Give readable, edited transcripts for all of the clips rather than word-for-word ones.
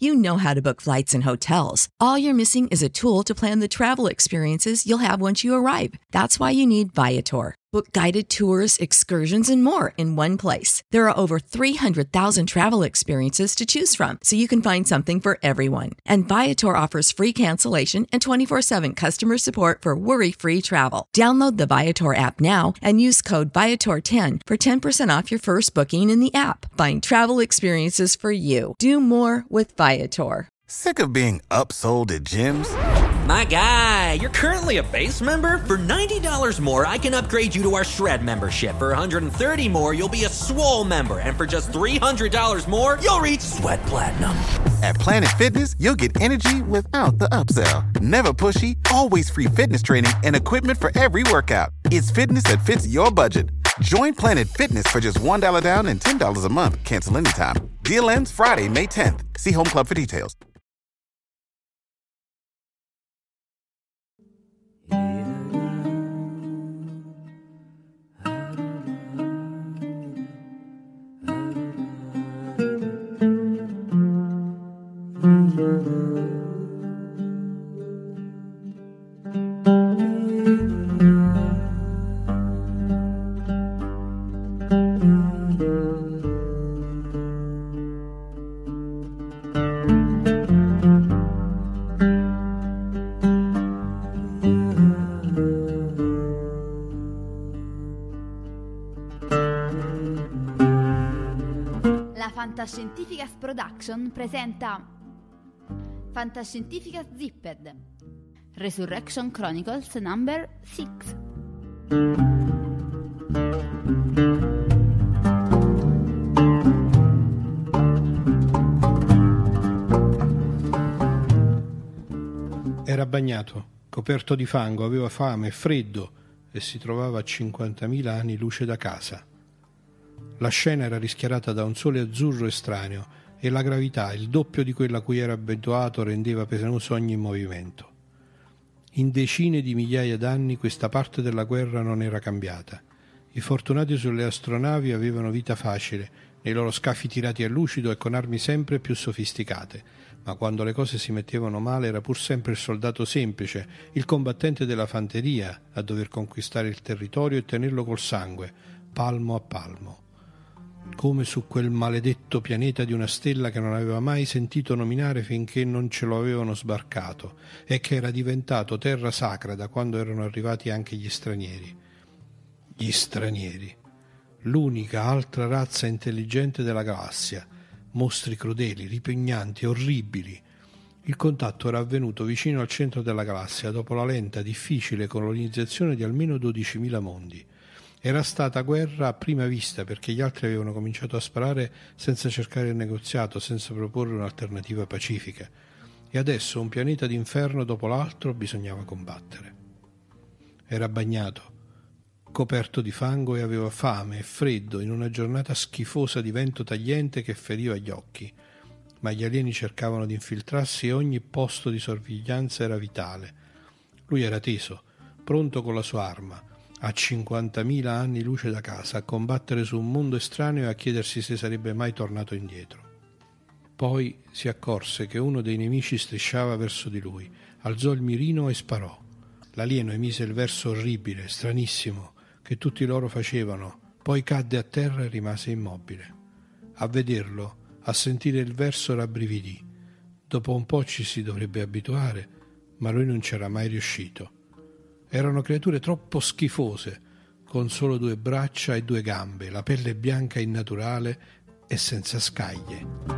You know how to book flights and hotels. All you're missing is a tool to plan the travel experiences you'll have once you arrive. That's why you need Viator. Book guided tours, excursions, and more in one place. There are over 300,000 travel experiences to choose from, so you can find something for everyone. And Viator offers free cancellation and 24/7 customer support for worry-free travel. Download the Viator app now and use code Viator10 for 10% off your first booking in the app. Find travel experiences for you. Do more with Viator. Sick of being upsold at gyms? My guy, you're currently a base member? For $90 more, I can upgrade you to our Shred membership. For $130 more, you'll be a Swole member. And for just $300 more, you'll reach Sweat Platinum. At Planet Fitness, you'll get energy without the upsell. Never pushy, always free fitness training and equipment for every workout. It's fitness that fits your budget. Join Planet Fitness for just $1 down and $10 a month. Cancel anytime. Deal ends Friday, May 10th. See Home Club for details. Fantascientificas Production presenta Fantascientificas Zipped Resurrection Chronicles number 6. Era bagnato, coperto di fango, aveva fame e freddo e si trovava a 50.000 anni luce da casa. La scena era rischiarata da un sole azzurro estraneo e la gravità, il doppio di quella a cui era abituato, rendeva penoso ogni movimento. In decine di migliaia d'anni questa parte della guerra non era cambiata. I fortunati sulle astronavi avevano vita facile, nei loro scafi tirati a lucido e con armi sempre più sofisticate, ma quando le cose si mettevano male era pur sempre il soldato semplice, il combattente della fanteria, a dover conquistare il territorio e tenerlo col sangue, palmo a palmo. Come su quel maledetto pianeta di una stella che non aveva mai sentito nominare finché non ce lo avevano sbarcato e che era diventato terra sacra da quando erano arrivati anche gli stranieri. Gli stranieri, l'unica altra razza intelligente della galassia, mostri crudeli, ripugnanti, orribili. Il contatto era avvenuto vicino al centro della galassia dopo la lenta, difficile colonizzazione di almeno 12.000 mondi. Era stata guerra a prima vista perché gli altri avevano cominciato a sparare senza cercare il negoziato, senza proporre un'alternativa pacifica. E adesso un pianeta d'inferno dopo l'altro bisognava combattere. Era bagnato, coperto di fango e aveva fame e freddo in una giornata schifosa di vento tagliente che feriva gli occhi. Ma gli alieni cercavano di infiltrarsi e ogni posto di sorveglianza era vitale. Lui era teso, pronto con la sua arma, a 50.000 anni luce da casa, a combattere su un mondo estraneo e a chiedersi se sarebbe mai tornato indietro. Poi si accorse che uno dei nemici strisciava verso di lui, alzò il mirino e sparò. L'alieno emise il verso orribile, stranissimo, che tutti loro facevano, poi cadde a terra e rimase immobile. A vederlo, a sentire il verso rabbrividì. Dopo un po' ci si dovrebbe abituare, ma lui non c'era mai riuscito. Erano creature troppo schifose, con solo 2 braccia e 2 gambe, la pelle bianca innaturale e senza scaglie.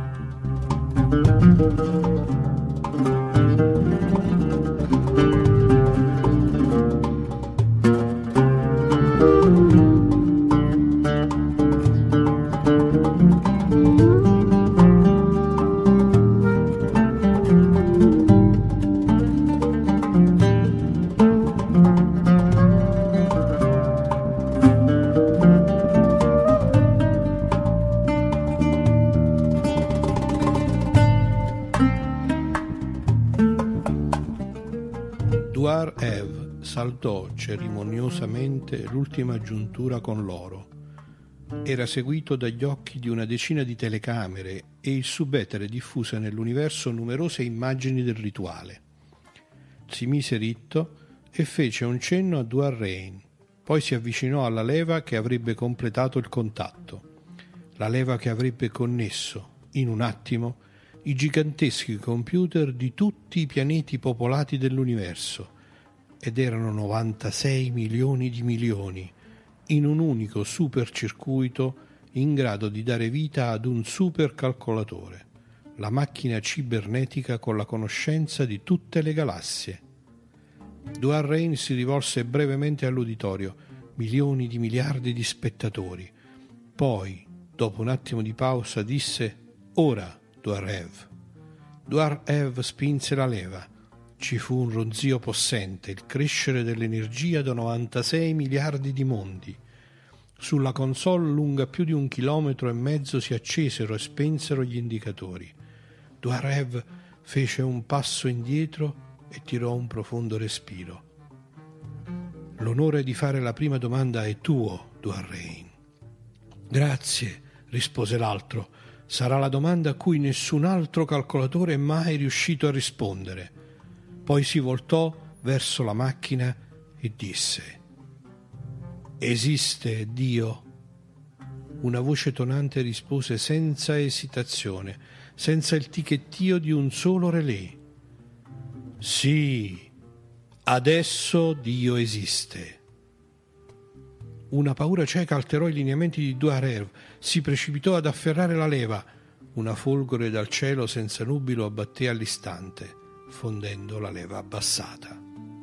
Saltò cerimoniosamente l'ultima giuntura con l'oro. era seguito dagli occhi di una decina di telecamere e il subetere diffuse nell'universo numerose immagini del rituale. Si mise ritto e fece un cenno a Duarrain, poi si avvicinò alla leva che avrebbe completato il contatto, la leva che avrebbe connesso, in un attimo, i giganteschi computer di tutti i pianeti popolati dell'universo, ed erano 96 milioni di milioni, in un unico supercircuito in grado di dare vita ad un supercalcolatore, la macchina cibernetica con la conoscenza di tutte le galassie. Duarrain si rivolse brevemente all'uditorio, milioni di miliardi di spettatori. Poi, dopo un attimo di pausa, disse: «Ora, Duarev». Duarev spinse la leva. Ci fu un ronzio possente, il crescere dell'energia da 96 miliardi di mondi. Sulla console lunga più di 1,5 chilometri si accesero e spensero gli indicatori. Duarev fece un passo indietro e tirò un profondo respiro. «L'onore di fare la prima domanda è tuo, Duarrain». «Grazie», rispose l'altro. «Sarà la domanda a cui nessun altro calcolatore è mai riuscito a rispondere». Poi si voltò verso la macchina e disse: «Esiste Dio?» Una voce tonante rispose senza esitazione, senza il ticchettio di un solo relè: «Sì, adesso Dio esiste». Una paura cieca alterò i lineamenti di Duarev, si precipitò ad afferrare la leva. Una folgore dal cielo senza nubi lo abbatté all'istante, fondendo la leva abbassata.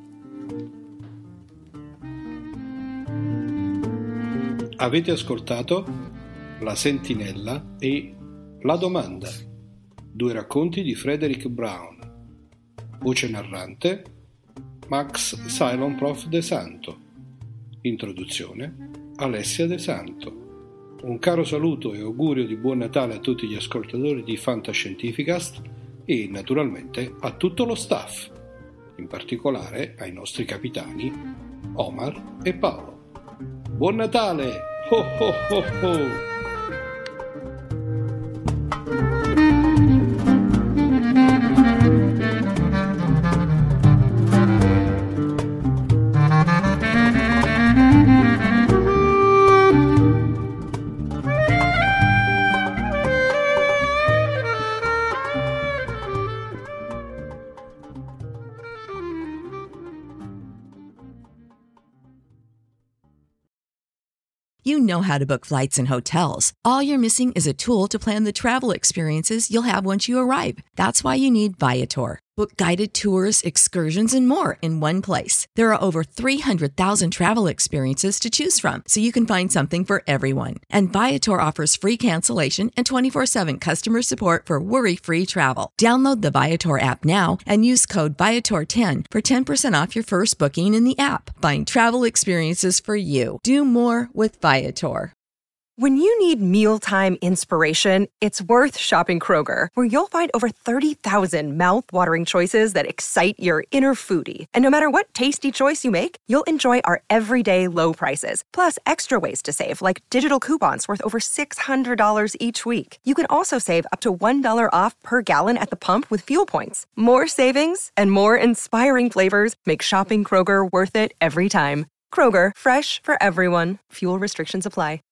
Avete ascoltato La Sentinella e La Domanda, 2 racconti di Frederick Brown. Voce narrante Max Cylon Prof De Santo. Introduzione Alessia De Santo. Un caro saluto e augurio di buon Natale a tutti gli ascoltatori di Fantascientificast e naturalmente a tutto lo staff, in particolare ai nostri capitani Omar e Paolo. Buon Natale! Ho ho ho ho! You know how to book flights and hotels. All you're missing is a tool to plan the travel experiences you'll have once you arrive. That's why you need Viator. Book guided tours, excursions, and more in one place. There are over 300,000 travel experiences to choose from, so you can find something for everyone. And Viator offers free cancellation and 24/7 customer support for worry-free travel. Download the Viator app now and use code Viator10 for 10% off your first booking in the app. Find travel experiences for you. Do more with Viator. When you need mealtime inspiration, it's worth shopping Kroger, where you'll find over 30,000 mouth-watering choices that excite your inner foodie. And no matter what tasty choice you make, you'll enjoy our everyday low prices, plus extra ways to save, like digital coupons worth over $600 each week. You can also save up to $1 off per gallon at the pump with fuel points. More savings and more inspiring flavors make shopping Kroger worth it every time. Kroger, fresh for everyone. Fuel restrictions apply.